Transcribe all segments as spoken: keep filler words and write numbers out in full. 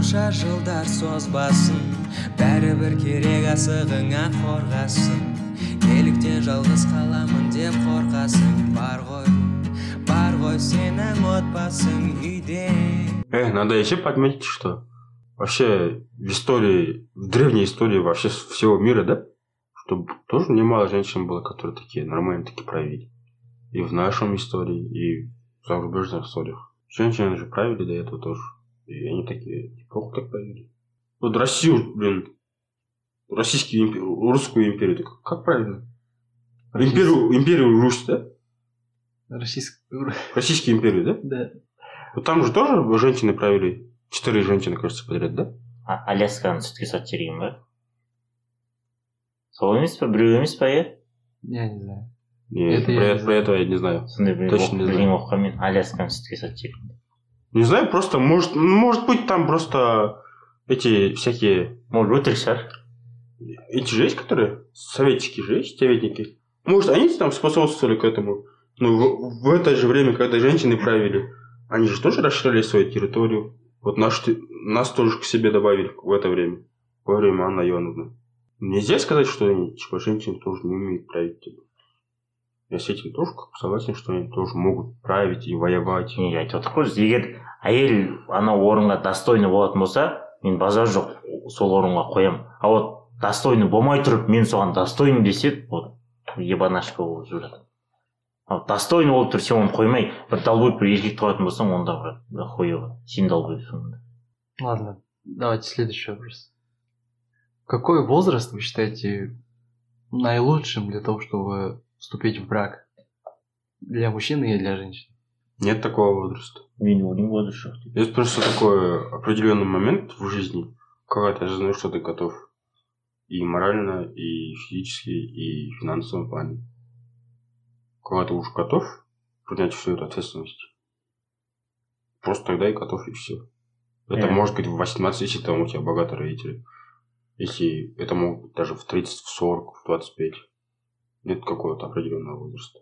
қанша жылдар созбасын, бәрібір керек асығыңа қорғасын. Неліктен жалғыз қаламын деп қорқасың? Бар ғой, бар ғой сенің отбасың үйде. Э, надо еще подметить, что вообще в истории, в древней истории вообще всего мира, да, чтобы тоже немало женщин было, которые такие нормальные, такие правили. И в нашем истории, и в зарубежных историях. Женщины же правили до этого тоже. И они такие неплохо так правили. Вот Россию, блин, Российскую империю, Русскую империю, так как правильно? Империю, империю Русь, да? Российскую... Российскую империю, да? Да. Вот там же тоже женщины правили. Четыре женщины, кажется, подряд, да? А, Алясканы сүтке сатып жіберген ба? Сол емес па? Біреу емес па, иә? Я не знаю. Нет, Это про, я это, про это я не знаю. Сондай бір Точно не білген знаю. оқыған мен Алясканы сүтке сатып жіберген. Не знаю, просто может, может быть там просто эти всякие... Может, өтірік шығар. Эти же есть, которые советчики же есть, советники. Может, они там способствовали к этому. Но в, в это же время, когда женщины правили, они же тоже расширяли свою территорию. Вот наш, нас тоже к себе добавили в это время. Во время Анны Ионовны. Нельзя сказать, что они, типа, женщины тоже не умеют править. Типа. Я с этим тоже согласен, что они тоже могут править и воевать. Не, айтып отырмын ғой, егер әйел анау орынға достойны болатын болса, мен базар жоқ сол орынға қоямын. А вот достойны болмай тұрып, мен соған достойны десе, вот ебанашка болып жүріп жатыр. А вот достойны болып тұр, сен оны қоймай, бір долбой бір еркекті қоятын болсаң, онда бір хуево. Сен долбойсың. Ладно, давайте следующий вопрос. Какой возраст вы считаете наилучшим для того, чтобы вступить в брак? Для мужчины и для женщины? Нет такого возраста. Мен ойлаймын возраст жоқ деп. Есть просто такой определенный момент в жизни, когда ты осознаешь, что ты готов. И морально, и физически, и в финансовом плане. Когда ты уж готов принять всю эту ответственность, просто тогда и готов, и все. Это Yeah. может быть в восемнадцать, если там у тебя богатые родители. Если это могут быть даже в тридцать, в сорок, в двадцать пять. Нет какого-то определенного возраста.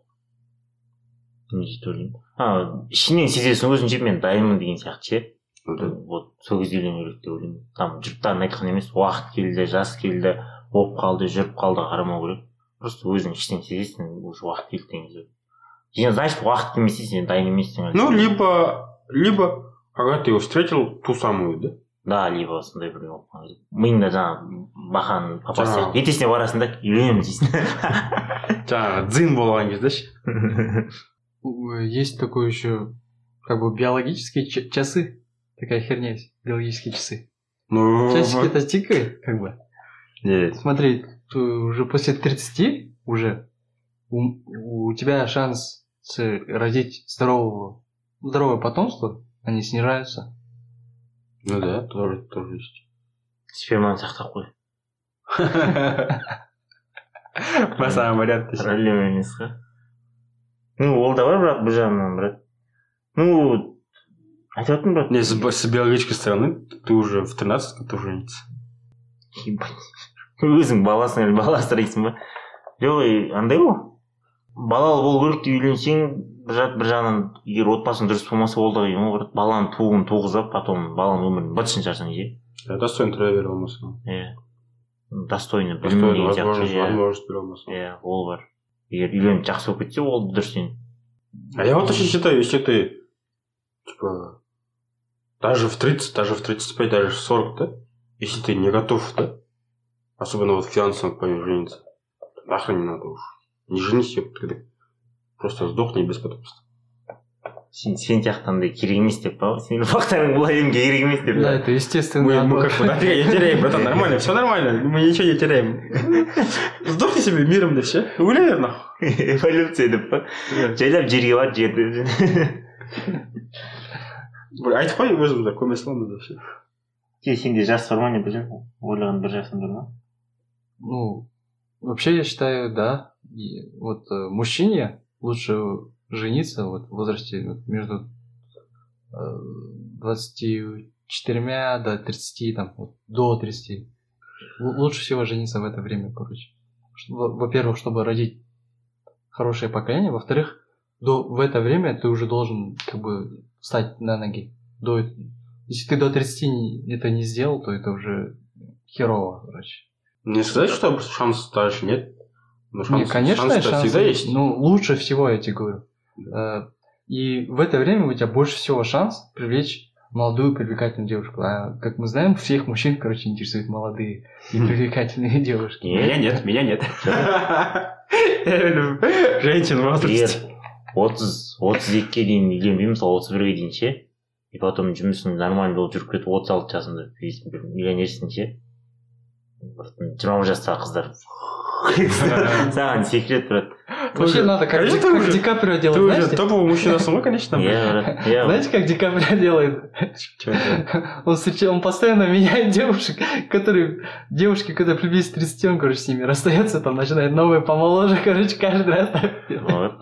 Не жете ойлаймын. А, ішінен сезесің өзінше мен дайынмын деген сияқты ше. Ну да. Вот сол кезде үйлену керек деп ойлаймын. Там жұрттардың айтқан емес, уақыт келді, жас келді, болып қалды, жүріп қалды қарамау керек. Просто өзің іштен сезесің, уже уақыт келді деген кезде. Сен значит уақыт келмесе сен дайын емессің. Ну, либо, либо, когда ты его встретил, ту самую, да? Да, либо сондай бір болып қалған кезде. Миыңда жаңағы бақан папасы Жаңағы- сияқты. Ертесіне барасың да үйленемін дейсің. Жаңағы дзин болған кезде ше. Есть такое еще, как бы, биологические ч- часы. Такая херня есть, биологические часы. Ну, Часики-то тикает, как бы. нет. Смотри, ты уже после тридцати уже у, у тебя шанс с- родить здорового, здоровое потомство, они снижаются. Ну да, тоже, тоже есть. Сперманы сақтап қой. По самому варианту. Проблема емес қой. Ну, ол да бар, бірақ бір жағынан, брат. Ну, айтып отырмын, брат. Не, с, с биологической стороны ты уже в тринадцать готов жениться. Ебать. Өзің баласың әлі бала асырайсың ба? Жоқ, е, андай ғой. Балалы болу керек деп үйленсең, бір жақ- бір жағынан егер отбасың дұрыс болмаса ол да қиын ғой, брат. Баланы туғын туғызып, потом баланың өмірін бытшын жасың же. Я достойно травя болмасын. Иә. Достойно білім Достойно деген сияқты. возможность, Иә, возможность бере болмасын. Иә, ол бар. Егер үйленіп жақсы болып кетсе, ол дұрыс сен. А я вот очень считаю, если ты, типа, даже в тридцать, даже в тридцать пять, даже в сорок, да, если ты не готов, да, особенно вот в финансовом плане жениться, нахрен не надо уж. Не женись, когда просто сдохни без потомства. Сен сен сияқтандай керек емес деп па? Сенің ұрпақтарың бұл әлемге керек емес деп. Да, это естественно. Мы, мы как бы нафига не теряем, братан, нормально, все нормально, мы ничего не теряем. Сдохни себе миром, да все. Гуляй, нахуй. Эволюция деп па? Жайлап жерге бар, жерді. Айтып қой өзімді көме саламын да все. Сен сенде жас бар ма не білем? Ойлаған бір жасың бар ма? Ну, вообще я считаю, да. И вот э, мужчине лучше жениться вот в возрасте вот, между э, двадцатью четырьмя до тридцати, там, вот, до тридцати. Л- лучше всего жениться в это время, короче. Что- во- Во-первых, чтобы родить хорошее поколение. Во-вторых, до, в это время ты уже должен как бы встать на ноги. До, Если ты до тридцати не- это не сделал, то это уже херово, короче. Не сказать, что шанс дальше нет. Но шанс, Не, конечно, шанс шансы всегда есть. Ну, лучше всего, я тебе говорю. Э, И в это время у тебя больше всего шанс привлечь молодую привлекательную девушку. А как мы знаем, всех мужчин, короче, интересуют молодые и привлекательные девушки. Меня нет, меня нет. Я люблю женщин в егер возрасте. отыз отыз екіге дейін үйленбей мысалы отыз бірге дейін ше и потом жұмысың нормально болып жүріп кетіп отыз алты жасында бір миллионерсің ше бір жиырма жастағы қыздар саған секрет брат. Вообще надо как, Конечно, Ди- ты как уже- Ди Каприо Ты делать, уже знаете? топовый мужчина ғой, конечно. Иә брат, иә. Знаете, как Ди Каприо делает? Чё это? Он, встреча- он постоянно меняет девушек, которые, девушки, когда приблизится к тридцати, он, короче, с ними расстается, там начинает новые помоложе, короче, каждый раз. Вот.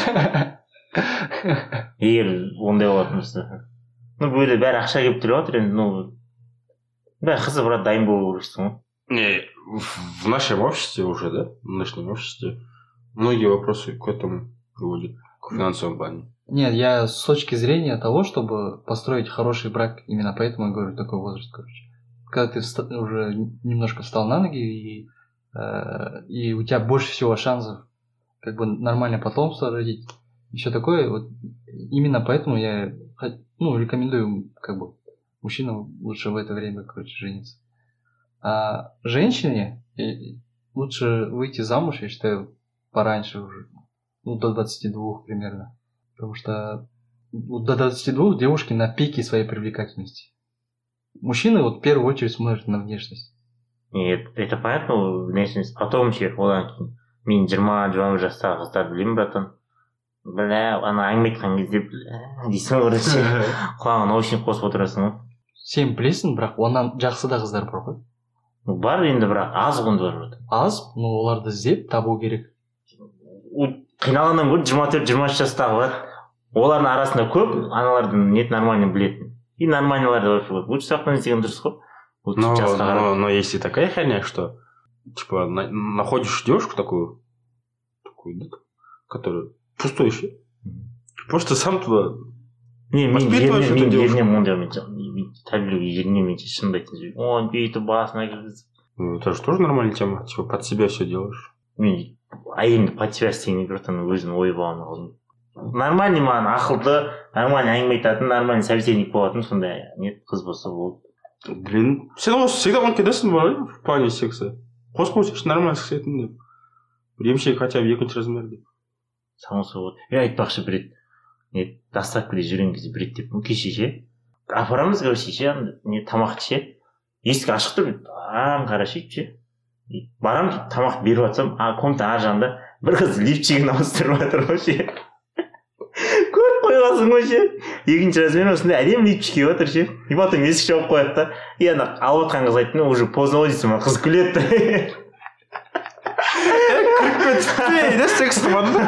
Егер ондай болатын болса ну бұл жерде бәрі ақша келіп тұрып жатыр енді ну бәрі қызы брат дайын болу керексің ғой. Не, в в нашем обществе уже, да, в нынешнем обществе многие вопросы к этому приводят, к финансовому плане. Нет, я с точки зрения того, чтобы построить хороший брак, именно поэтому я говорю такой возраст, короче. Когда ты вста- уже немножко встал на ноги, и, э, и у тебя больше всего шансов как бы нормальное потомство родить, еще такое, вот именно поэтому я хот- ну, рекомендую как бы мужчинам лучше в это время, короче, жениться. А женщине э, лучше выйти замуж, я считаю, пораньше уже, ну, до двадцати двух примерно. Потому что вот до двадцати двух девушки на пике своей привлекательности. Мужчины вот в первую очередь смотрят на внешность. Нет, это понятно внешность потом ше одан кейін мен жиырма жиырма бір жастағы қыздарды білемін братан бля ана әңгіме айтқан кезде бля дейсің ғой ше құлағыңа наушник қосып отырасың ғой. Сен білесің, бірақ онан жақсы да қыздар бар ғой. Ну, бар енді бірақ аз ғұнды бар братан. Аз, но оларды іздеп табу керек. Қиналғаннан гөрі жиырма төрт жиырма үш жастағы бар олардың арасында көп аналардың нет нормально білетін и нормальныйлар да вообще лучше сақтан іздеген дұрыс қой. Лучше Но, жасқа қарап. но, но есть и такая херня, что типа на- находишь девушку такую, такую, да, которая пустующая, просто сам туда. Не, мен Воспитываешь еріне эту мен девушку. еріне ондай мен тәрбиелеуге еріне мен шынымды айтайын ой бүйтіп басына кіргізіп Ну, это же тоже нормальная тема. Типа под себя все делаешь. мен әйелімді под себя істегенде братан өзім ой болған алдым нормальный маған ақылды нормальный әңгіме айтатын нормальный собеседник болатын сондай нет қыз болса болды. Блин, всегда, всегда он кидается в плане секса. Қосып нормально секс деп. Емшек хотя бы екінші размерде. самосы болады. Е айтпақшы бір рет не доставкада жүрген кезде бір рет деп ну кеше ше апарамыз короче ше не тамақты ше есік ашық тұр аң қара ше ше барамын тамақ беріп жатсам а комната ар жағында бір қыз лифчигін ауыстырып жатыр ғой ше көріп қойғансың ғой ше екінші размер осындай әдемі лифчик киіп жатыр ше и потом есік жауып қояды да и ана алып жатқан қыз айтты уже поздно ғой дейсің ба қыз күледі Эй, да секс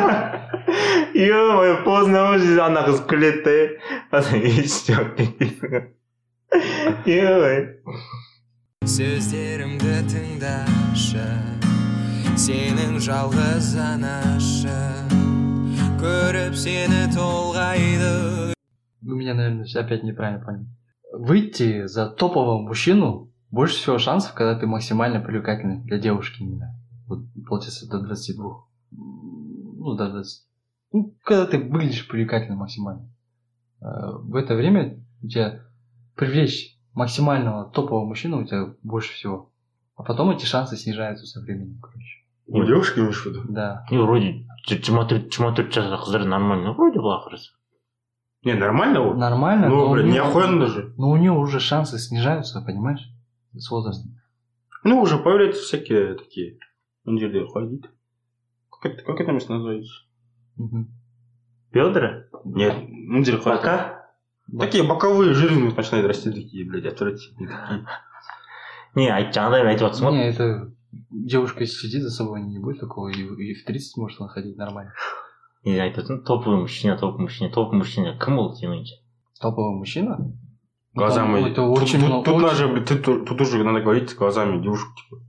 ё-моё поздно ғой дейді ана қыз күледі да потом есік жауып кетесің ё-моё сөздерімді тыңдашы сенің жалғыз анашы көріп сені толғайды. Вы меня, наверное, опять неправильно поняли. Выйти за топового мужчину больше всего шансов, когда ты максимально привлекательный для девушки именно. Вот, получается, до двадцати двух. Ну, до двадцати. Ну, когда ты выглядишь привлекательно максимально. Э, В это время у тебя привлечь максимального топового мужчину у тебя больше всего. А потом эти шансы снижаются со временем, короче. У девушки имеешь в виду? Да. не вроде жиырма төрт жиырма төрт жастағы қыздар нормально вроде былай қараса Не, нормально вот. Нормально, Ну, но, блин, у не неё- охуенно даже. но у нее уже шансы снижаются, понимаешь? С возрастом. Ну, уже появляются всякие такие. Он жерде ходит. Как это, как это место называется? Мгм. бедра Нет, ну, ходит. бока Такие боковые жирные начинают расти такие, блядь, отвратительные такие. не айт жаңағыдай айтып жатрсың ғой Не, это девушка сидит за собой, не будет такого, и, и в тридцать может она ходить нормально. не айтып жатрмын топовый мужчина топовый мужчина топовый мужчина кім ол сенің ойыңша Топовый мужчина? Глазами. Ну, это Тут, очень тут- много. тут очень- даже, блядь, тут, тут уже надо говорить глазами девушек, типа.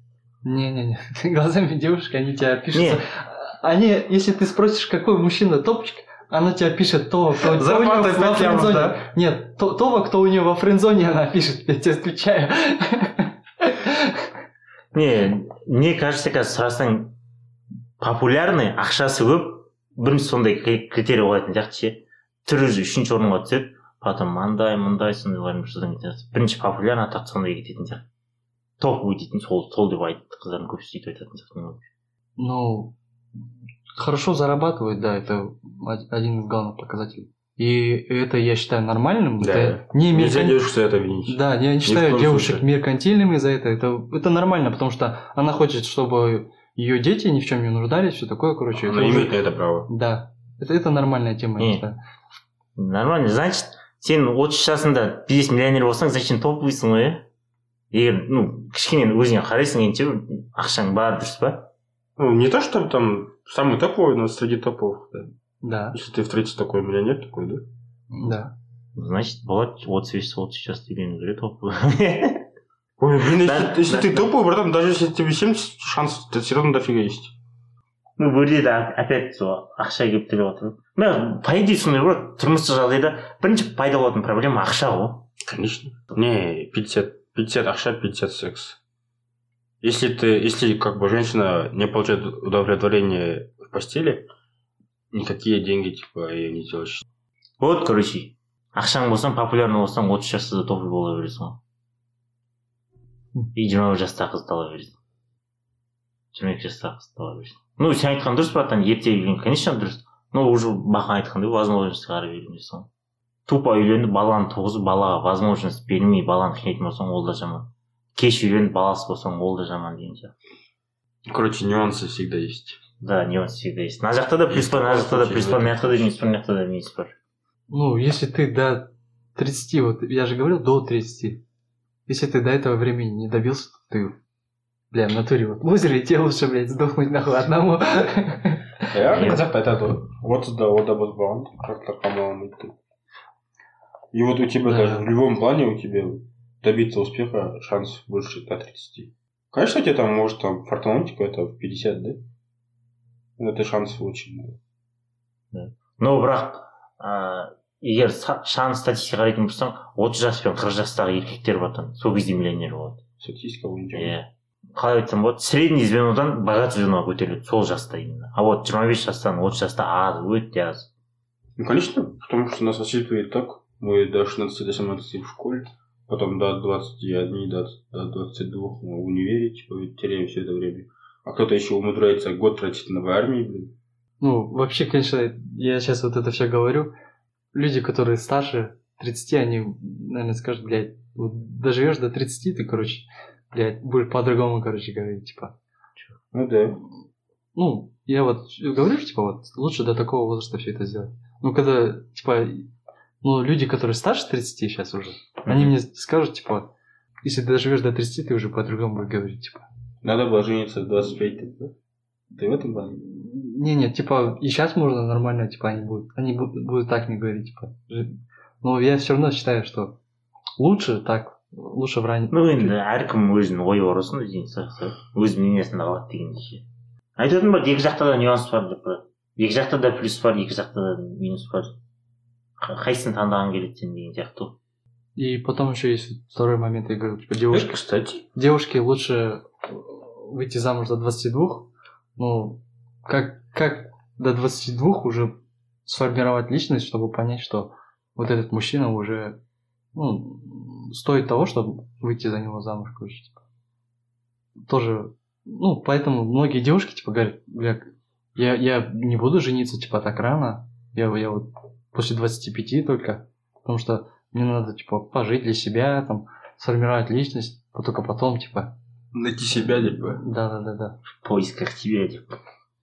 Не-не-не, глазами девушки, они тебя пишут. Не. Они, если ты спросишь, какой мужчина топчик, Она тебя пишет то, кто, кто у нее Зарплата во пять лямов, френдзоне. да? Нет, то, того, кто у нее во френдзоне, она пишет, я тебе отвечаю. Не, мне кажется, қазір сұрасаң популярный ақшасы көп бірінші сондай критерий қоятын сияқты ше. Түрі үшінші орынға түседі, потом мындай мындай сондайлардың содан кетеді. Бірінші популярный атақ сондай кететін сияқты. Топовый дейтін сол сол деп айтты қыздардың көбісі сөйтіп айтатын сияқты. Ну, хорошо зарабатывает, да, это один из главных показателей. И это я считаю нормальным. Да. Это не Нельзя меркан- девушку за это винить. Да, я не Ни в считаю коем девушек случае. меркантильными за это. это. Это нормально, потому что она хочет, чтобы ее дети ни в чем не нуждались, все такое, короче. Она это уже- имеет на это право. Да, это, это нормальная тема, я Не. считаю. Нормально, значит, сен отыз жасында бизнес миллионер болсаң, зачем топовыйсың ғой, иә? Егер, ну, кішкене өзіңе қарайсың енді ақшаң бар, дұрыс па? Ну, не то, чтобы там самый топовый, но среди топовых, да. Да, Если ты встретишь такой миллионер, такой, да? да. Значит, болады отыз бес отыз сейчас үйлену керек топовый. Ой, блин, Да, если, если да. ты топовый, братан, даже если тебе семьдесят, шанс все равно дофига есть. Ну, бұл жерде опять сол ақша келіп келіп отыр. Мына по идее сондай ғой, тұрмыстық жағдайда бірінші пайда болатын проблема ақша ғой. Конечно. Не, пятьдесят, пятьдесят ақша, пятьдесят секс. Если ты, если как бы женщина не получает удовлетворение в постели, никакие деньги, типа, ее не делаешь. Вот, короче, ақшаң болсаң, популярный болсаң, отыз жаста да топовый бола бересің ғой. И жиырма бір жастағы қызды ала бересің. жиырма екі жастағы қызды ала бересің. Ну, сен айтқан дұрыс, братан, ерте үйленген, конечно, дұрыс. Но уже бақан айтқандай, возможность қарап үйленесің ғой. Тупо үйленіп, баланы туғызып, балаға возможность бермей, баланы қинайтын болсаң, ол да жаман. Кеш үйленіп, баласы болсаң, ол да жаман деген сияқты. Короче, нюансы всегда есть. Да, нюанс всегда есть. На жақта да плюс бар, на жақта да плюс бар, на жақта да минус бар, на жақта да минус бар. Ну, если ты до тридцати, вот я же говорил, до тридцати, если ты до этого времени не добился, то ты, бля, в натуре вот в лузере, тебе лучше, блядь, сдохнуть нахуй одному. Я қазақта айтады ғой отызда ода бұзбаған қырықта қамалған дейді. И вот у тебя Да. даже в любом плане у тебя добиться успеха шанс больше до тридцати. Конечно, у тебя там может там фартануть какой-то в пятьдесят, да? Но это шанс очень мало. Но бірақ ә, егер са- шан статистика қарайтын болсаң, отыз жас пен қырық жастағы еркектер братан, сол кезде миллионер болады. Статистика бойынша. Иә. Қалай айтсам болады, средний звенодан богатый звеноға көтеріледі, сол жаста именно. А вот жиырма бес жастан отыз жаста аз, өте аз. Ну, конечно, потому что нас воспитывает так. Мы до шестнадцати, до семнадцати в школе, потом до двадцати одного, до, до двадцати двух мы в универе, типа, теряем все это время. А кто-то еще умудряется год тратить на в армии, блин. Ну, вообще, конечно, я сейчас вот это все говорю. Люди, которые старше тридцати, они, наверное, скажут, блядь, вот доживешь до тридцати, ты, короче, блядь, будешь по-другому, короче, говорить, типа. Ну да. Ну, я вот говорю, что, типа, вот, лучше до такого возраста все это сделать. Ну, когда, типа, ну, люди, которые старше тридцати сейчас уже, они мне скажут, типа, если ты доживешь до тридцати, ты уже по-другому будешь говорить, типа. Надо было жениться в двадцать пять, да? Ты в этом плане? Не-не, типа, и сейчас можно нормально, типа, они будут, они будут, будут так не говорить, типа. Жи- Но я все равно считаю, что лучше так, лучше в раннем... Ну енді әркім өзінің ойы бар осыны дейін сияқты, өз мнениесін алады деген ше. Айтатын бар, екі жақта да нюанс бар деп қояды. Екі жақта да плюс бар, екі жақта да минус бар. Қ- Қайсысын таңдаған келеді сен деген сияқты. И потом еще есть второй момент, я говорю, типа, Э, девушки, кстати. девушке лучше выйти замуж до двадцати двух, ну, как, как до двадцати двух уже сформировать личность, чтобы понять, что вот этот мужчина уже, ну, стоит того, чтобы выйти за него замуж, короче, типа. Тоже, ну, поэтому многие девушки, типа, говорят, бля, я, я не буду жениться, типа, так рано, я, я вот после двадцати пяти только, потому что мне надо, типа, пожить для себя, там, сформировать личность, а только потом, типа, Найти себя, типа. да-да-да-да. В поисках тебя, типа.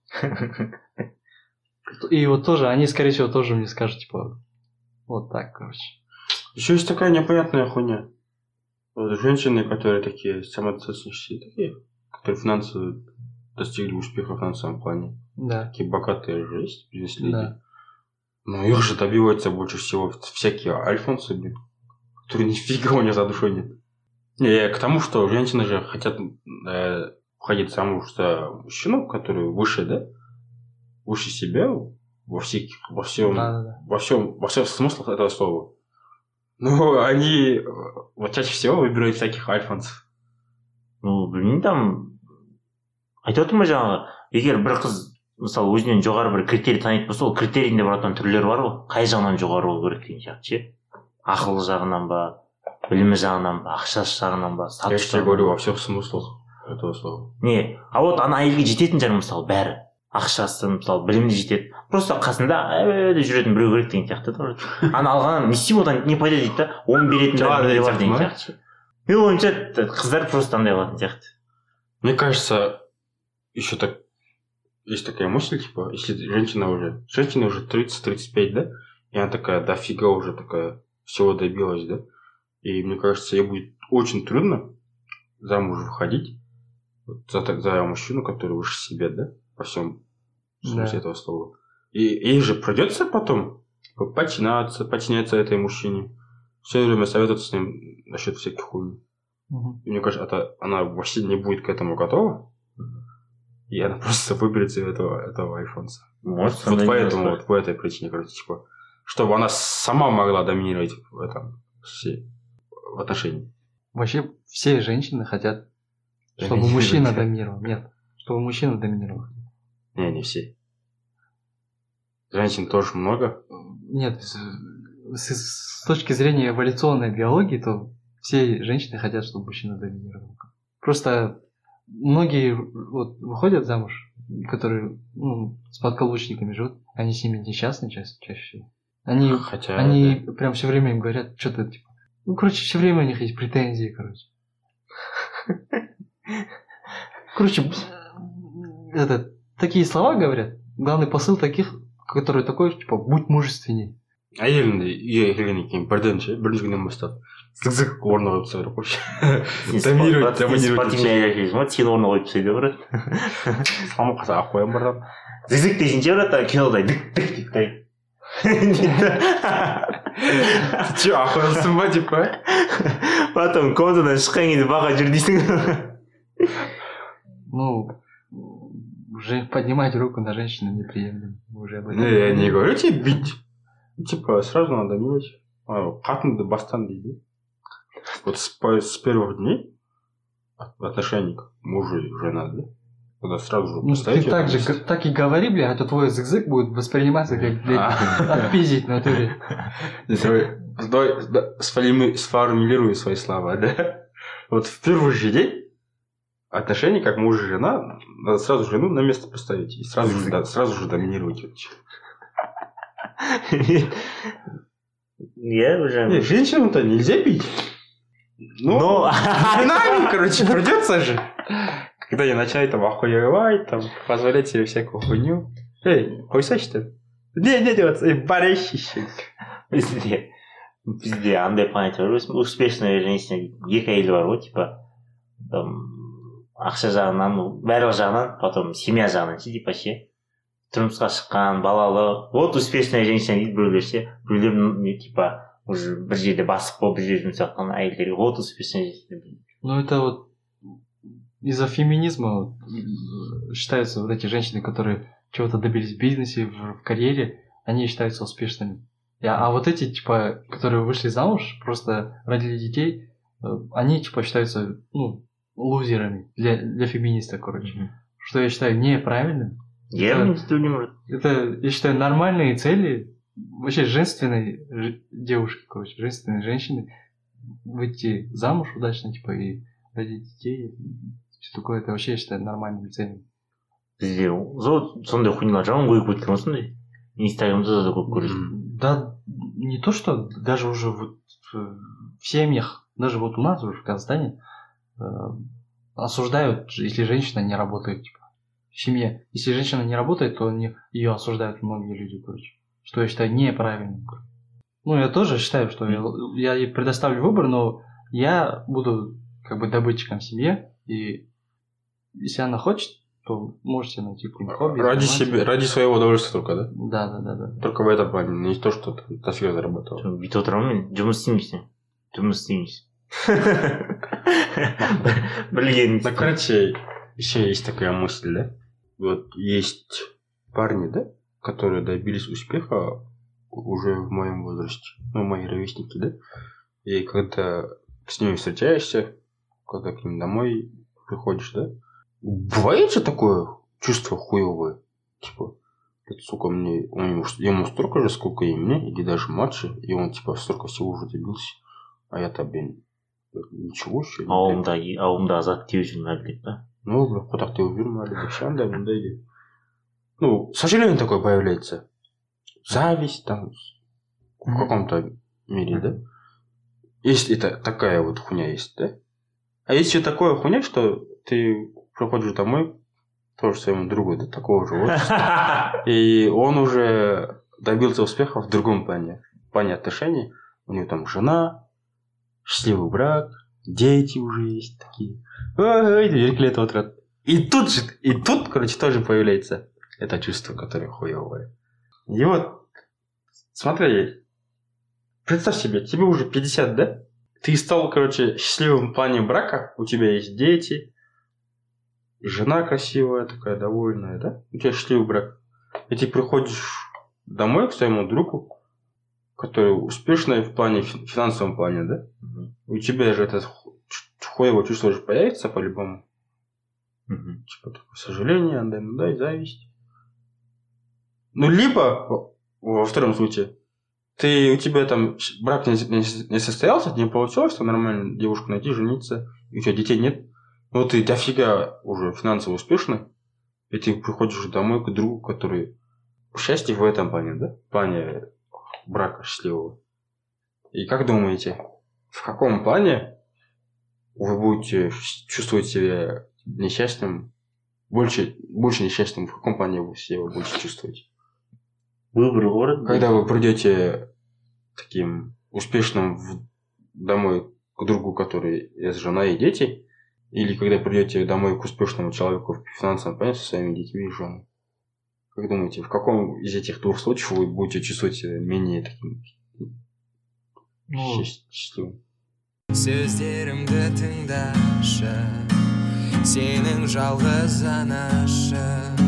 И вот тоже, они, скорее всего, тоже мне скажут, типа, вот так, короче. Еще есть такая непонятная хуйня. Вот женщины, которые такие самодостаточные, такие, которые финансово достигли успеха в финансовом плане. Да. Такие богатые жесть, бизнес-леди. Да. Но их же добиваются больше всего всякие альфонсы, блин, которые нифига у них за душой нет. Не, я к тому, что женщины же хотят э, выходить замуж за мужчину, который выше, да? Выше себя, во всех, во всем, Да, да, да. во всем, во всех смыслах этого слова. Но они вот чаще всего выбирают всяких альфонсов. Ну, білмеймін, там айтып отырмын ба жаңағы, егер бір қыз мысалы өзінен жоғары бір критерий танитын болса, ол критерийінде баратын түрлері бар ғой, қай жағынан жоғары болу керек деген сияқты ше. Ақылы жағынан ба, білімі жағынан ба, ақшасы жағынан ба, Я статус же тебе говорю во всех смыслах этого слова. не, а вот ана әйелге жететін жер мысалы бәрі, ақшасы мысалы білімді жетеді, просто қасында әуелі жүретін біреу керек деген сияқты да. Ана алғаннан не істеймін, одан не пайда дейді да, оны беретін біреу бар деген сияқты. Мен ойымша қыздар просто андай қылатын сияқты. Мне кажется, еще так есть такая мысль, типа, если женщина уже, женщина уже тридцать-тридцать пять, да, и она такая дофига уже такая всего добилась, да, и мне кажется, ей будет очень трудно замуж выходить вот, за, за мужчину, который выше себя, да, по всем смысле Да. этого слова. И ей же придется потом подчиняться, подчиняться этой мужчине, все время советоваться с ним насчет всяких хуйни. Мгм. И мне кажется, это, она вообще не будет к этому готова. И она просто выберется этого, этого альфонса. Может, Вот поэтому, вот по этой причине, короче, типа, чтобы она сама могла доминировать в этом, все, в отношении. Вообще все женщины хотят, чтобы Доминировать. мужчина доминировал. Нет, чтобы мужчина доминировал. Не, не все. Женщин тоже много. Нет, с, с- с точки зрения эволюционной биологии, то все женщины хотят, чтобы мужчина доминировал. Просто многие вот выходят замуж, которые ну, с подкаблучниками живут, они с ними несчастны чаще, чаще всего. Они, Хотя... они прям все время им говорят что-то типа. Ну, короче, все время у них есть претензии, короче. Короче, это, такие слова говорят. Главный посыл таких, который такой, типа, будь мужественней. А елінде үйге келгеннен кейін бірден ше бірінші күннен бастап зық зық орнына қойып тастау керек вообще. Доминировать, доминировать. Спортивный әйел ма, сені орнына қойып тастайды брат. Салмақ қалса алып қоямын братан. Зізік дейсің брат, кинодай дік дік дік дай. Ты че, охуенсың ба деп па? Потом комнатадан шыққан кезде баға жүр дейсің. Ну, уже поднимать руку на женщину неприемлемо. Мы уже об этом Не, я не говорили. говорю тебе бить. Типа, сразу надо милить. Қатынды бастан дейді. Вот с, по- с первых дней отношений к мужу и жена, да? Когда сразу же Ну, поставить ты её так на же, место. г- так и говори, бля, а то твой зык-зык будет восприниматься как, блядь, А. отпиздить в натуре. Давай, давай, да, сформи- сформулирую свои слова, да? Вот в первый же день отношения как муж и жена, надо сразу жену на место поставить и сразу же, да, сразу же доминировать. Я уже... Не, женщину-то нельзя бить. Ну, Но... временами, короче, придется же. Когда я начинаю там охуевать, там, позволять себе всякую хуйню. Эй, хуйса что ли? Не, не, не, эй, барещище. Бізде бізде андай понятие бар, успешная женщина екі әйелі бар ғой, типа там ақша жағынан, барлық жағынан, потом семья жағынан ше, типа ше, тұрмысқа шыққан, балалы, вот успешная женщина дейді біреулер ше, біреулер не, типа уже бір жерде басып болып бір жерде жұмыс жатқан әйелдерге вот успешная женщина. Ну, это вот из-за феминизма вот, м, считаются вот эти женщины, которые чего-то добились в бизнесе, в, в карьере, они считаются успешными. И- А, а вот эти, типа, которые вышли замуж, просто родили детей, э, они, типа, считаются, ну, лузерами для, для феминисток, короче. Что я считаю неправильным. Я Да. не знаю. Это, я считаю, нормальные цели вообще женственной ж- девушки, короче, женственной женщины выйти замуж удачно, типа, и родить детей. Все такое, это вообще, я считаю, нормальными целями. Бізде зо- сондай хуйнялар жаман көйіп кеткен осындай. Инстаграмда да көп көресің. Да, не то, что даже уже вот в в семьях, даже вот у нас уже в Казахстане э, осуждают, если женщина не работает, типа, в семье. Если женщина не работает, то не, ее осуждают многие люди, короче. Что я считаю неправильным. короче. Ну, я тоже считаю, что я, я ей предоставлю выбор, но я буду как бы добытчиком в семье, и если она хочет, то можете найти какое-нибудь хобби. Ради заниматься. себя, ради своего удовольствия только, да? Да, да, да, да. Только в этом плане, не то, что ты дофига зарабатывал. бүйтіп отырамын мен, жұмыс істеймісің? Жұмыс істейміз. Білген. Ну, короче, еще есть такая мысль, да? Вот есть парни, да? которые добились успеха уже в моем возрасте, ну, мои ровесники, да? И когда с ними встречаешься, когда к ним домой приходишь, да? Бывает же такое чувство хуевое, типа, сука, мне, он ему, ему столько же, сколько и мне, или даже младше, и он, типа, столько всего уже добился, а я-то, блин, ничего еще. Ауылда, ауылда азат теу жүрмәлі дейді, да? Ну, бля, куда ты увермали, да, шанда, мында иди. Ну, сожаление такое появляется. Зависть там, в каком-то мире, да? Есть это такая вот хуйня есть, да? А есть еще такое хуйня, что ты приходишь домой, тоже своему другу, да, такого же возраста, и он уже добился успеха в другом плане, в плане отношений. У него там жена, счастливый брак, дети уже есть такие. Ой, и тут же, и тут, короче, тоже появляется это чувство, которое хуевое. И вот, смотри, представь себе, тебе уже пятьдесят, да? Ты стал, короче, счастливым в плане брака, у тебя есть дети, жена красивая, такая довольная, да? У тебя счастливый брак. И ты приходишь домой к своему другу, который успешный в плане, в финансовом плане, да? Mm-hmm. У тебя же это хуевое чувство уже появится по-любому. Mm-hmm. Типа такое сожаление, да, ну да, и зависть. Ну, либо, во втором случае, ты, у тебя там брак не, не, не состоялся, не получилось, там нормально девушку найти, жениться, и у тебя детей нет. Но ты дофига уже финансово успешный, и ты приходишь домой к другу, который счастье в этом плане, да? В плане брака счастливого. И как думаете, в каком плане вы будете чувствовать себя несчастным, больше, больше несчастным, в каком плане вы себя будете чувствовать? Выбор город. Когда вы придете таким успешным в, домой к другу, который есть жена и дети, или когда придете домой к успешному человеку в финансовом плане со своими детьми и женой? Как думаете, в каком из этих двух случаев вы будете чувствовать себя менее таким ну, счастливым? Сөздерімді тыңдашы, сенің жалғыз анашы,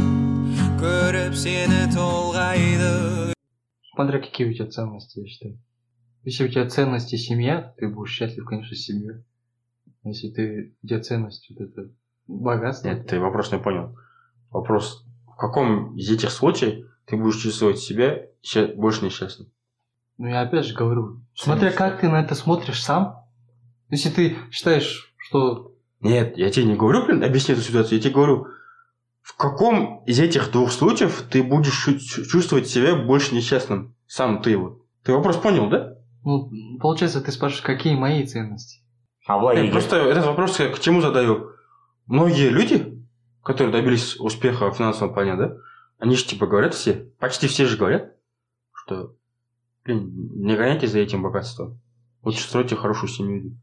көріп сені толғайды. Смотря какие у тебя ценности, я считаю. Если у тебя ценности семья, ты будешь счастлив, конечно, с семьей. Если ты, у тебя ценность вот это богатство. Нет, ты вопрос не понял. Вопрос, в каком из этих случаев ты будешь чувствовать себя больше несчастным? Ну, я опять же говорю, смотря как ты на это смотришь сам. Если ты считаешь, что... Нет, я тебе не говорю, блин, объясни эту ситуацию. Я тебе говорю, в каком из этих двух случаев ты будешь чувствовать себя больше несчастным? Сам ты вот. Ты вопрос понял, да? Ну, получается, ты спрашиваешь, какие мои ценности? А Нет, просто этот вопрос я к чему задаю? Многие люди, которые добились успеха в финансовом плане, да, они же типа говорят все, почти все же говорят, что, блин, не гоняйтесь за этим богатством. Лучше стройте хорошую семью.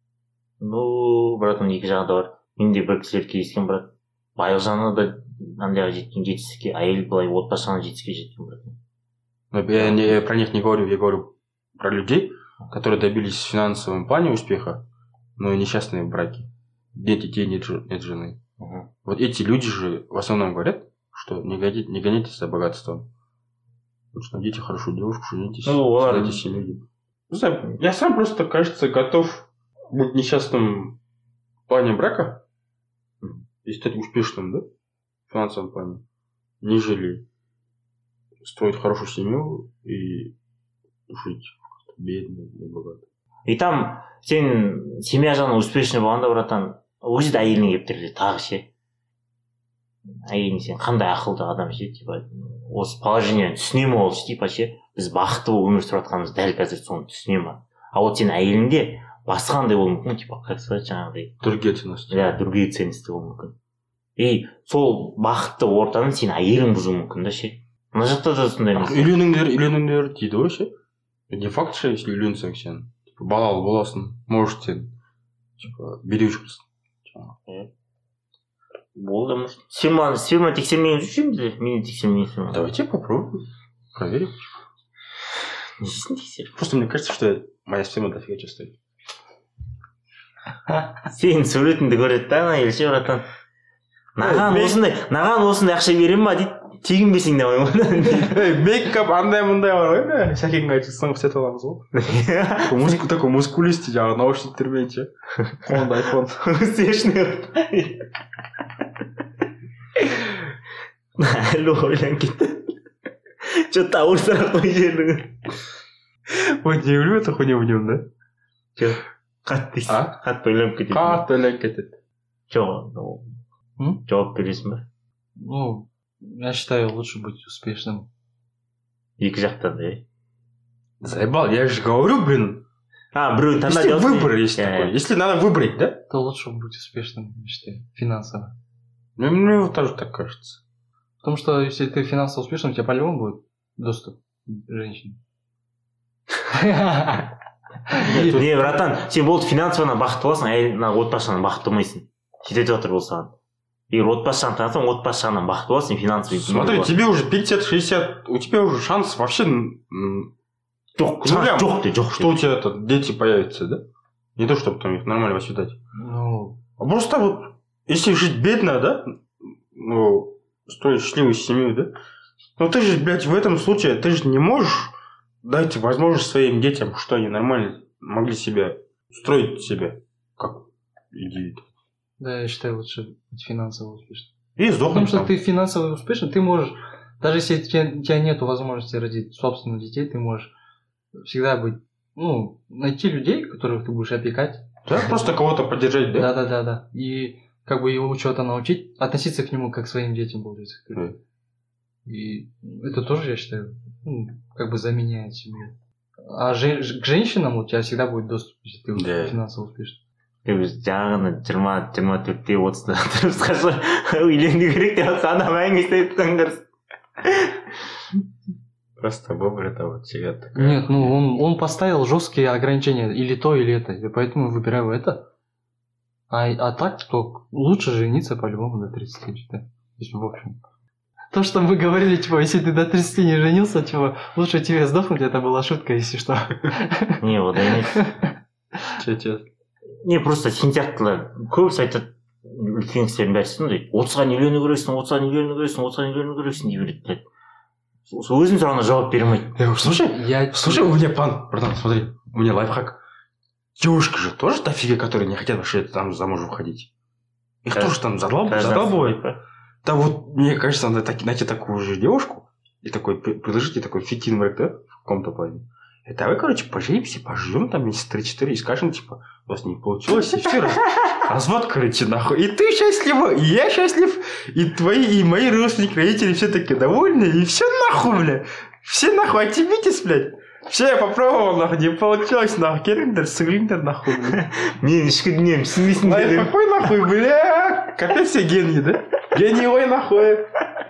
Ну, братан, екі жағы да бар. Мен де бір кісілер кездескен, брат. Байлық жағына да андайға жеткен жетістікке, әйел былай отбасы жағына жетістікке жеткен, брат. Я не, про них не говорю, я говорю про людей, которые добились в финансовом плане успеха, но несчастные в браке. Нет детей, нет, нет жены. Угу. Вот эти люди же в основном говорят, что не гоняйтесь, не гоняйтесь за богатством. Лучше найдите хорошую девушку, женитесь, ну, создайте семью. Не знаю, я сам просто, кажется, готов быть несчастным в плане брака и стать успешным, да, в финансовом плане, нежели строить хорошую семью и жить бедно и богато. И там сен семья жағынан успешный болғанда, братан, ол жерде әйелің келіп тұр тағы ше. Әйелің сен қандай ақылды адам ше, типа осы положениені түсіне ме ол типа ше, біз бақытты болып өмір сүріп жатқанымыз дәл қазір соны түсіне ме. А вот сенің әйеліңде басқа қандай болуы мүмкін, типа как сказать жаңағыдай. Другие ценности. Да, другие ценности болуы мүмкін. И сол бақытты ортаны сенің әйелің бұзуы мүмкін да ше. Мына жақта да сондай емес. Үйленіңдер, үйленіңдер дейді ғой ше. Не факт ше, если үйленсең сен балалы боласың, может сен типа билеуші боласың. Болды, может. Сферма, сферма тексермеген жүрсем де, мені тексермеген. Давайте попробуем, проверим. Несін тексеріп? Просто мне кажется, что моя сферма дофига чувствует. Сенің суретіңді көреді да, ана елше братан. Наған осындай, наған осындай ақша берем ба дейді. тегінбесең де қоймады. Мейкап андай мындай бар ғой, сәкенге айтып сынғып сетіп аламыз ғой. Такой мускулистый жаңағы наушниктермен ше. Қолында айфон. Успешный. Әлі ойланып кетті. Что-то ауырсырақ қой жердің. Ой, не білмей тұр хуйня в нем, да? Жоқ, қатты дейсің. Қатты ойланып кетеді. Қатты ойланып кетеді. Жоқ, жауап бересің ба? Ну, я считаю, лучше быть успешным. Екі жақтан да, е? Заебал, я же говорю, блин. А, біреу таңдап Если выбор есть такой, если надо выбрать, да? То лучше быть успешным, я считаю, финансово. Ну, мне вот тоже так кажется. Потому что если ты финансово успешным, у тебя по-любому будет доступ к женщине. Не, братан, сен болды финансован бақытты боласың, әйеліңнен отбасыңнан бақытты болмайсың. Жетеді жатыр ол саған. Егер отбасыңнан танысаң, отбасыңнан бақытты боласың, финансовый. Смотри, тебе уже пятьдесят шестьдесят, у тебя уже шанс вообще... Жоқ, жоқ, жоқ. Что у тебя это, дети появятся, да? Не то, чтобы там их нормально воспитать. Ну... А просто вот, если жить бедно, да? Ну, строить счастливую семью, да? Ну ты же, блядь, в этом случае, ты же не можешь дать возможность своим детям, что они нормально могли себя строить себе, как индивид. Да, я считаю, лучше быть финансово успешным. И сдохнуть. Потому что там. ты финансово успешный, ты можешь, даже если у тебя, у тебя нет возможности родить собственных детей, ты можешь всегда быть, ну, найти людей, которых ты будешь опекать. Да, просто кого-то поддержать, да? Да, да, да, да. И как бы его чего-то научить, относиться к нему как к своим детям, получается. Да. И это тоже, я считаю, ну, как бы заменяет семью. А же, к женщинам у тебя всегда будет доступ, если ты Да. финансово успешный. Жаңағыны жиырма жиырма төртте отызда тұрып үйлену керек деп жатқан адам әңгімесі айтқандар. Просто выбор это вот всегда такая. Нет, ну он, он поставил жесткие ограничения, или то, или это, и поэтому я выбираю это. А, а так, то лучше жениться по-любому до тридцати, считаю. Если в общем. То, что мы говорили, типа, если ты до тридцати не женился, типа, лучше тебе сдохнуть, это была шутка, если что. Не, вот емес. Че, че? Не, просто сен сияқтылар көбісі айтады, үлкен кісілердің бәрі сондай, отызға үйлену керексің, отызға үйлену керексің, отызға үйлену керексің деп береді. Өзім сұрағына жауап бере алмайды. Я говорю, слушай, Я... слушай, у меня план, братан, смотри, у меня лайфхак. Девушки же тоже дофига, которые не хотят вообще там замуж выходить. Их Кажд... тоже там задал, задолбывает. Да вот, мне кажется, надо так, найти такую же девушку и такой, предложить ей такой фитин брак, да, в каком-то плане. И давай, короче, поженимся, поживем там месяца три-четыре и скажем, типа, у вас не получилось, и все, развод, короче, нахуй. И ты счастлива, и я счастлив, и твои, и мои родственники, родители все таки довольны, и все нахуй, бля. Все нахуй, отъебитесь, блядь. Все, я попробовал, нахуй, не получилось, нахуй, келиндер, сыгриндер, нахуй, бля. Мен ішкі дүнием түсінбейсің Ай, дедім. какой нахуй, бля. Капец все гений, да? Гений, ой, нахуй.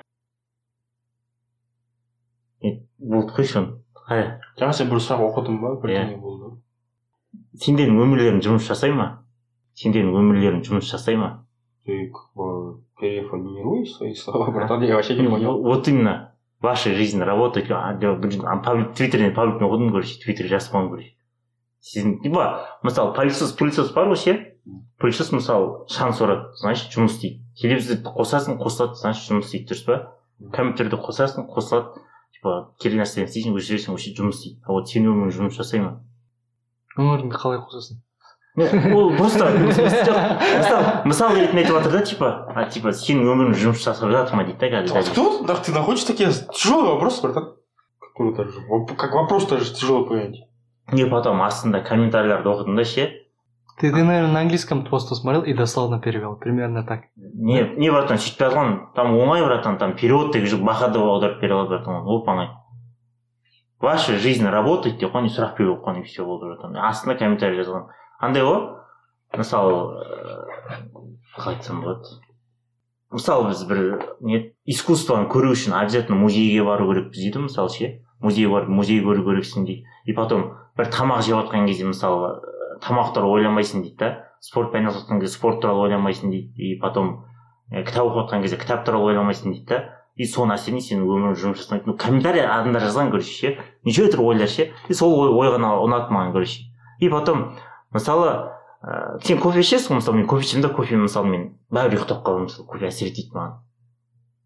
Болды қой шон. Қай? Жаңа сен бір сұрақ оқыдың ба? Бірдеңе болды. Сендердің өмірлерің жұмыс жасай ма? Сендердің өмірлерің жұмыс жасай ма? Ты как бы переформируешь свои слова, братан, я вообще не понял. Вот именно. Ваша жизнь работает. Твиттерден пабликтен оқыдым, короче, твиттерде жазған, короче. Сіздің, типа, мысалы, пылесос, пылесос бар ғой, ше? Пылесос, мысалы, шанс ұрады, значит, жұмыс істейді. Телевизорды қосасың, қосылады, значит, жұмыс істейді, дұрыс па? Компьютерді қосасың, қосылады. Типа, керек нәрседен істейсің, өшіресің, өшір жұмыс істейді. А вот сен өмірің жұмыс жасай ма? Өміріңді қалай қосасың? Ол просто, мысалы, мысал ретінде айтып жатыр да, типа, а типа, сенің өмірің жұмыс жасап жатыр ма дейді да, қазір. Кто? Да, ты находишь такие тяжелые вопросы, братан? Как вопрос тоже тяжело понять. Не, потом астында комментарийларды оқыдым да, ше. Ты, ты, наверное, на английском просто смотрел и дословно перевел. Примерно так. Не, не, братан, сөйтіп жазған, там оңай, братан, там перевод деп жүр, бақады аударып бере алады, братан, оп оңай. Ваша жизнь работает деп қойған, сұрақ беріп қойған, и все болды, братан. Астында комментарий жазған. Андай ғой, мысалы, қалай айтсам болады. Мысалы, біз бір не искусствоны көру үшін обязательно музейге бару керекпіз дейді, мысалы, ше. Музейге барып, музей көру керексің дейді. И потом бір тамақ жеп жатқан кезде, мысалы, тамақ туралы ойламайсың дейді да. Спортпен айналысып жатқан кезде спорт туралы ойламайсың дейді. И потом кітап оқып жатқан кезде кітап туралы ойламайсың дейді да. И соны әсерінен сенің өмірің жұмыс жасамайды. Ну, комментарий адамдар жазған, короче, ше. Неше түрлі ойлар, ше. И сол ой ғана ұнады маған, короче. И потом, мысалы, ә, сен кофе ішесің, мысалы, мен кофе ішемін да, кофе, мысалы, мен бәрібір ұйықтап қаламын, мысалы, кофе әсер етеді маған.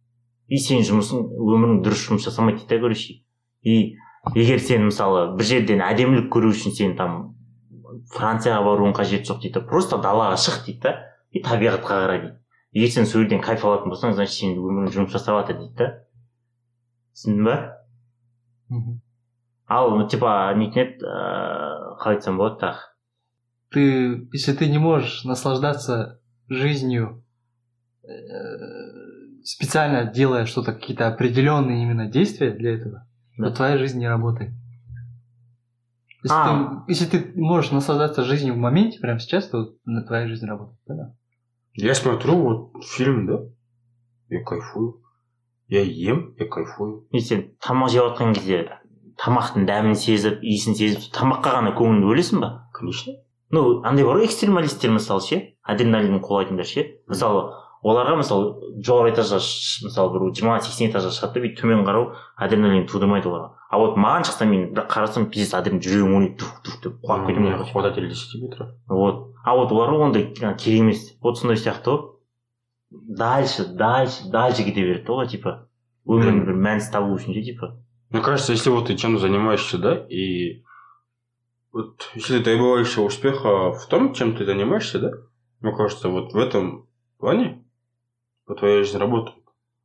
и сен жұмысың өмірің дұрыс жұмыс жасамайды дейді, короче. И егер сен мысалы бір жерден әдемілік көру үшін сен там Францияға баруың қажет жоқ дейді, просто далаға шық дейді да, и табиғатқа қара дейді. Егер сен сол жерден кайф алатын болсаң, значит сен өмірің жұмыс жасап жатыр дейді да. Түсіндің ба? Ал типа нетін еді, қалай айтсам болады так. Ты, если ты не можешь наслаждаться жизнью, специально делая что-то, какие-то определенные именно действия для этого, да, то твоя жизнь не работает. Если, а. ты, если ты можешь наслаждаться жизнью в моменте, прямо сейчас, то твоя жизнь работает. Да? Я смотрю вот фильм, да, я кайфую. Я ем, я кайфую. И сен тамақ жеп жатқан кезде тамақтың дәмін сезіп, иісін сезіп, тамаққа ғана көңіліңді бөлесің ба? Конечно. Ну, андай бар ғой, экстремалисттер мысалы ше, адреналин қолайтындар ше. Мысалы, оларға мысалы жоғары этажға, мысалы бір жиырма сексен этажға шығады деп төмен қарау адреналин тудырмайды оларға. А вот маған шықса мен бір қарасам пиздец адреналин жүрегім ойнайды, тух-тух деп қуанып кетемін. Хвататель десяти метров. Вот. А вот оларға ондай керек емес. Вот сондай сияқты ғой. Дальше, дальше, дальше кете береді ғой, типа. Өміріңді бір мәнісі табу үшін, типа. Мне кажется, если вот ты чем-то занимаешься, да, и вот если ты добиваешься успеха в том, чем ты занимаешься, да, мне кажется, вот в этом плане твоя жизнь работает.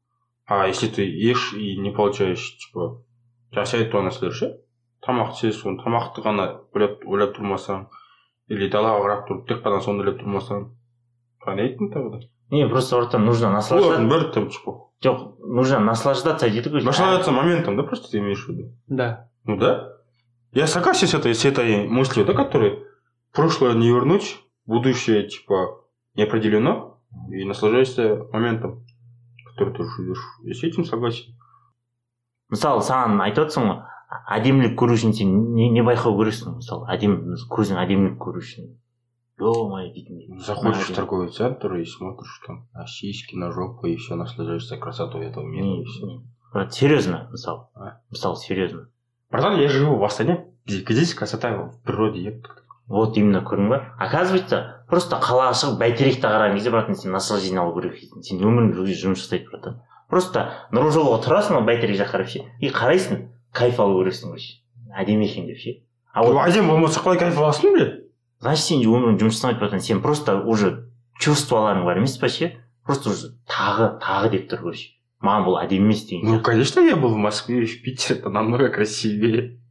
А если ты ешь и не получаешь, типа, жасайды то нәрселер, тамақ жейсің, соны тамақты ғана ойлап тұрмасаң, или далаға қарап тұрып тек қана соны ойлап тұрмасаң, қандай айттың тағы да? Не, просто ортам нужно наслаждаться. Бір там, типа. Жоқ, нужно наслаждаться, дейді ғой. Наслаждаться моментом, да, просто ты имеешь в виду? Да. Ну да. Я согласен с этой, с этой мыслью, да, которой прошлое не вернуть, будущее, типа, не определено, и наслаждаешься моментом, который ты живешь. Я с этим согласен. Мысалы, саған айтып отырсың ғой, әдемілік көру үшін сен не, не байқау керексің, мысалы, әдем, көзің әдемілік көру үшін. Ё-моё, дейтін. Заходишь в торговый центр и смотришь там на сиськи, на жопу, и все, наслаждаешься красотой этого мира. Не, не. Брат, серьезно, мысалы. А? Мысалы, серьезно. Братан, я живу в Астане, здесь красота в природе. Я... Вот именно, көрдің ба? Оказывается, просто қалаға шығып бәйтеректі қараған кезде, братан, сен наслаждение алу керек екен. Сен өмірің жұмыс жасайды, братан. Просто нұрлы жолға тұрасың, бәйтерек жаққа қарап ше, и қарайсың, кайф алу керексің вообще. Әдемі екен деп ше. А вот әдемі болмаса қалай кайф аласың, бля? Значит, сен өмірің жұмыс жасамайды, братан, сен просто уже чувстволарың бар емес па ше? Просто уже тағы, тағы деп тұр, короче. Маған бұл әдемі емес деген. Ну, конечно, я был в Москве и в Питере, это намного красивее.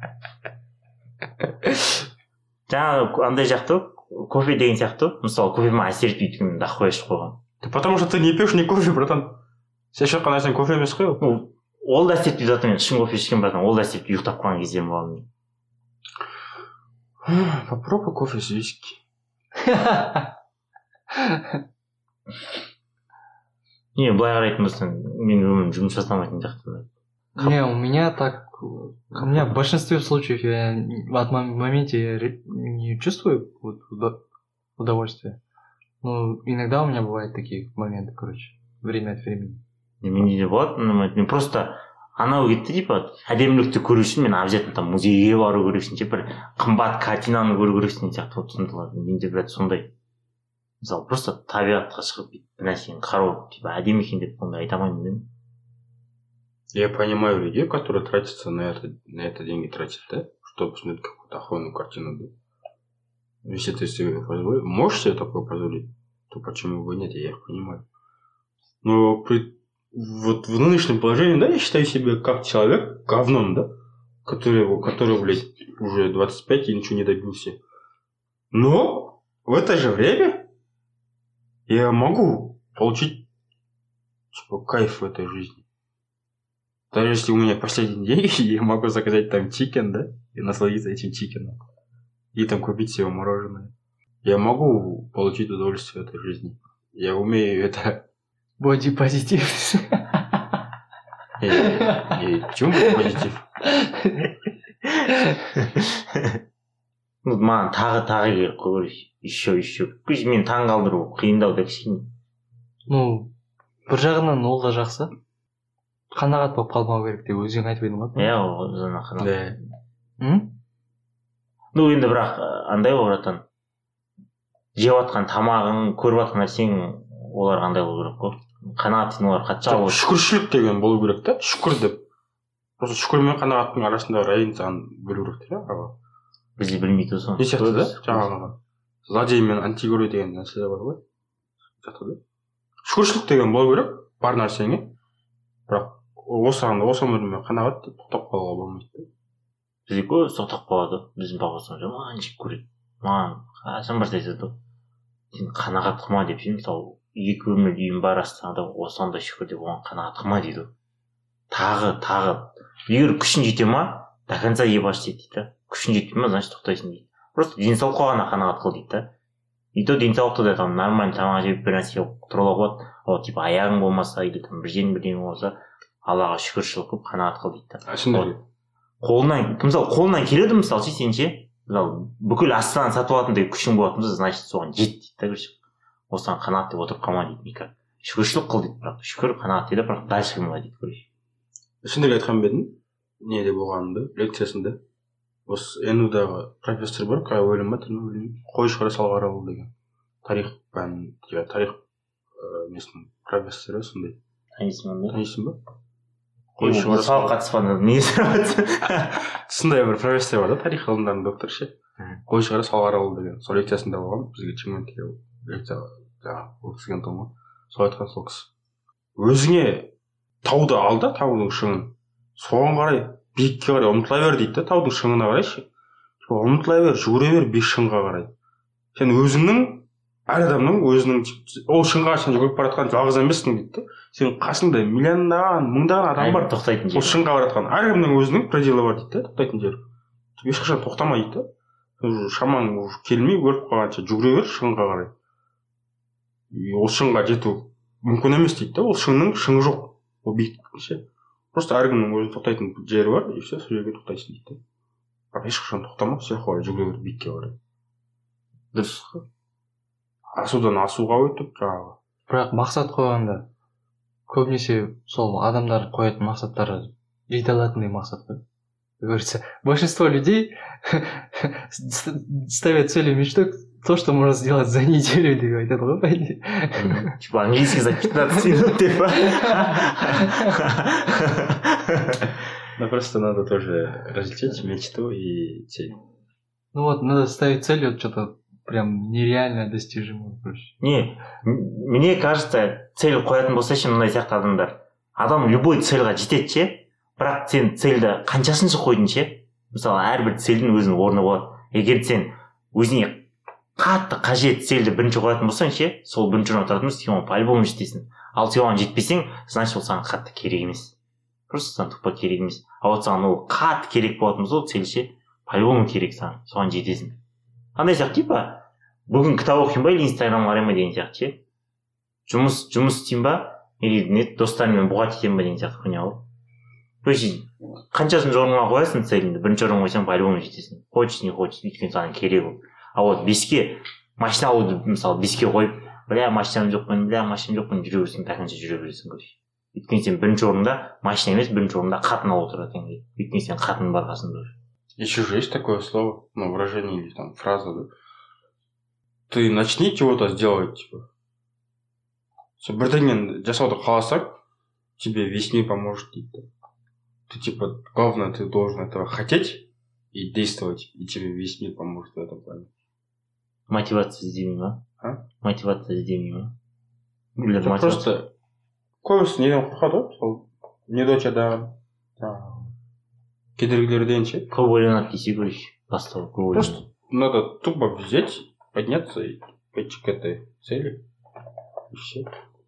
Жаңағы андай жақты, кофе деген сияқты, мысалы, кофе ма әсер етпейді екен, да қояшып қойған. Потому что ты не пьешь не кофе, братан. Сен шаққан нәрсең кофе емес қой. Ну, ол да әсер етпейді, братан, мен шын кофе ішкен, братан, ол да әсер етпейді, ұйықтап қалған кездерім болған. Попробуй кофе с виски. Не, былай қарайтын болсаң, мен өмірім жұмыс жасамайтын сияқты. Не, у меня так... У меня в большинстве случаев я в этом моменте не чувствую вот, удовольствия. Но иногда у меня бывают такие моменты, короче, время от времени. Менде де болады, мен просто... Анау кетті, типа, әдемілікті көру үшін мен обязательно там музейге бару керексің, типа, қымбат картинаны көру керексің сияқты вот сондай. Менде брат сондай. Мысалы, просто табиғатқа шығып бір нәрсені қарау, типа, әдемі екен деп ондай айта алмаймын деймін. Я понимаю людей, которые тратятся на это, на это деньги тратят, да, чтобы посмотреть какую-то охуенную картину, да. Если ты себе позволишь, можешь себе такое позволить, то почему бы нет, я их понимаю. Но при вот в нынешнем положении, да, я считаю себя как человек говном, да, который, который, блядь, уже двадцать пять и ничего не добился. Но в это же время я могу получить, типа, кайф в этой жизни. Даже если у меня последние деньги, я могу заказать там чикен, да, и насладиться этим чикеном. И там купить себе мороженое. Я могу получить удовольствие в этой жизни. Я умею это... Боди-позитив. Почему боди-позитив? Маған тағы тағы керек қой, еще еще. Мен таң қалдыру қиындау да кішкене. Ну, бір жағынан ол да жақсы. Қанағат болып қалмау керек деп өзің айтып едің ғой. Иә, ол жаңа қанағат. Да. Ну, енді бірақ андай ғой, братан. Жеп жатқан тамағың, көріп жатқан нәрсең олар қандай болу керек қой, қанағат ететін олар қатты жауап. Шүкіршілік деген болу керек та, шүкір деп. Просто шүкір мен қанағаттың арасындағы разницаны білу керек те, аға. Бізде білмейді соны. Не сияқты да, жаңағы злодей мен антигерой деген нәрсе бар ғой. Сияқты да. Шүкіршілік деген болу керек бар нәрсеңе, бірақ осыған осы өміріме қанағат деп тоқтап қалуға болмайды. Бізде көп тоқтап қалады. Біздің бағасымыз маған жек көреді. Маған қашан бір айтады, сен қанағат қылма деп ше, мысалы екі өмір үйім бар астанада, осында шүкір деп оған қанағат қылма дейді. Тағы тағы егер күшін жете ма, до конца ебаш дейді. Күшін жетпей ма, значит тоқтайсың дейді. Просто денсаулыққа ғана қанағат қыл дейді. И то денсаулықты да там нормально тамақ жеп бір нәрсе тұруға болады. Ол типа аяғың болмаса или там бір жерің бірдеңе болса, Аллаға шүкіршілік қылып қанағат қыл дейді. Қолынан, мысалы қолынан келеді мысалы ше сен ше, мысалы бүкіл Астананы сатып алатындай күшің болатын болса, значит соған жет дейді да, көрші. Осыған қанағат деп отырып қалма дейді никак. Шүкіршілік қыл дейді, бірақ шүкір қанағат дейді, бірақ дальше қылма дейді, көрші. Ішіндегі айтқан ба едім, неде болғанымда, лекциясында. Осы эн юдағы профессор бар, қай өлім ба, түрме өлім, Қойшығара Салғаралы деген. Тарих пән, тарих несінің профессоры сондай. Танисың ба? Танисың ба? Қойшығара Салғаралы қатыспаны не сұрады? Сондай бір профессор бар да, тарих ғылымдарының докторы ше. Қойшығара Салғаралы деген. Сол лекциясында болған, бізге Шымкентке лекция жаңағы өткізген тұғын. Сол айтқан сол кісі. Өзіңе тауды ал да, таудың шыңын. Соған қарай биікке қарай ұмтыла бер дейді да, таудың шыңына қарай ше. Ұмтыла бер, жүгіре бер биік шыңға қарай. Сен өзіңнің, әр адамның өзінің ол шыңға сен жүгіріп баратқан жалғыз емессің дейді да. Сен қасыңда миллиондаған, мыңдаған адам бар. Тоқтайтын жер. Ол шыңға баратқан. Әркімнің өзінің пределі бар дейді да, тоқтайтын жер. Ешқашан тоқтама дейді да. Шамаң келмей өліп қалғанша жүгіре бер шыңға қарай. Ол шыңға жету мүмкін емес дейді да. Ол шыңның шыңы жоқ. Ол биік ше. Просто әркімнің өзінің тоқтайтын жері бар, и все, сол жерге тоқтайсың дейді. Бірақ ешқашан тоқтама, все қарай жүгіре бер биікке қарай. Дұрыс. Асудан асуға өтіп жаңағы. Бірақ мақсат қойғанда көбінесе сол адамдар қоятын мақсаттары жете алатындай мақсат қой. Говорится, большинство людей ставят целью мечты то, что можно сделать за неделю, деп айтады ғой, по идее. Типа английский за пятнадцать минут, деп па? Ну, просто надо тоже различить мечту и цель. Ну вот, надо ставить цель, вот что-то прям нереально достижимое, короче. Не, мне кажется, цель қоятын болса ше мындай сияқты адамдар. Адам любой цельға жетеді ше, бірақ сен цельді қаншасыншы қойдың ше? Мысалы, әрбір цельдің өзінің орны болады. Егер сен өзіңе қатты қажет цельді бірінші қоятын болсаң ше, сол бірінші орын отыратын болса, сен оны по-любому жетесің. Ал сен оған жетпесең, значит ол саған қатты керек емес. Просто саған тупо керек емес. А вот саған ол қатты керек болатын болса, ол цель ше, по-любому керек саған, соған жетесің. Қандай сияқты типа, бүгін кітап оқимын ба или инстаграм қараймын ба деген сияқты ше. Жұмыс жұмыс істеймін ба, или нет достарыммен бұғат етемін ба деген сияқты хуйня ғой. То есть қаншасыншы орынға қоясың целіңді, бірінші орынға қойсаң по-любому жетесің. Хочешь не хочешь, өйткені саған керек ол. А вот беске машина алуды мысалы беске қойып, бля машинам жоқ қойын, бля машинам жоқ қойын жүре берсең, тақынша жүре бересің короче. Өйткені сен бірінші орында машина емес, бірінші орында қатын алып отыратын. Өйткені сен қатын бар қасында. Еще же есть такое слово, ну, выражение или там фраза, да? Ты начни чего-то сделать, типа. Бірдеңені жасауды қаласаң, тебе весь мир поможет дейді. Ты типа, главное, ты должен этого хотеть и действовать, и тебе весь мир поможет в этом плане. Мотивация іздемей ма? А? Мотивация іздемей ма? Это просто көбісі неден қорқады ғой, сол недочадан, кедергілерден ше. Көп ойланады десе көрейші, бастау көп ойланады. Просто надо тупо взять, подняться и пойти к этой цели, и все.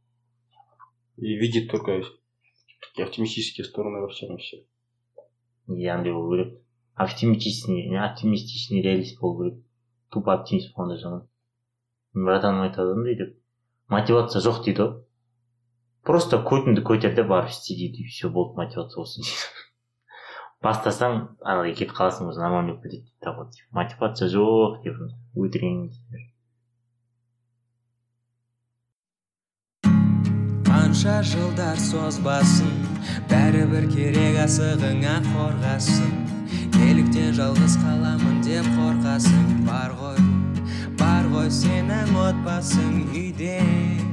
И видеть только такие оптимистические стороны во всем и все. Андай болу керек. Оптимистичный, оптимистичный реалист болу керек. Тупо оптимист болғанда жаман. Братаным айтады дейді. Мотивация жоқ дейді ғой. Просто көтіңді көтер де барып істе дейді. Все болды, мотивация болсын дейді. Бастасаң, ана кетіп қаласың, өзі нормально болып кетеді дейді. Мотивация жоқ деп өтірген дейді. Қанша жылдар созбасын, бәрібір керек асығыңа қорғасын. Неліктен жалғыз қаламын деп қорқасың. Бар ғой, бар ғой сенің отбасың үйде.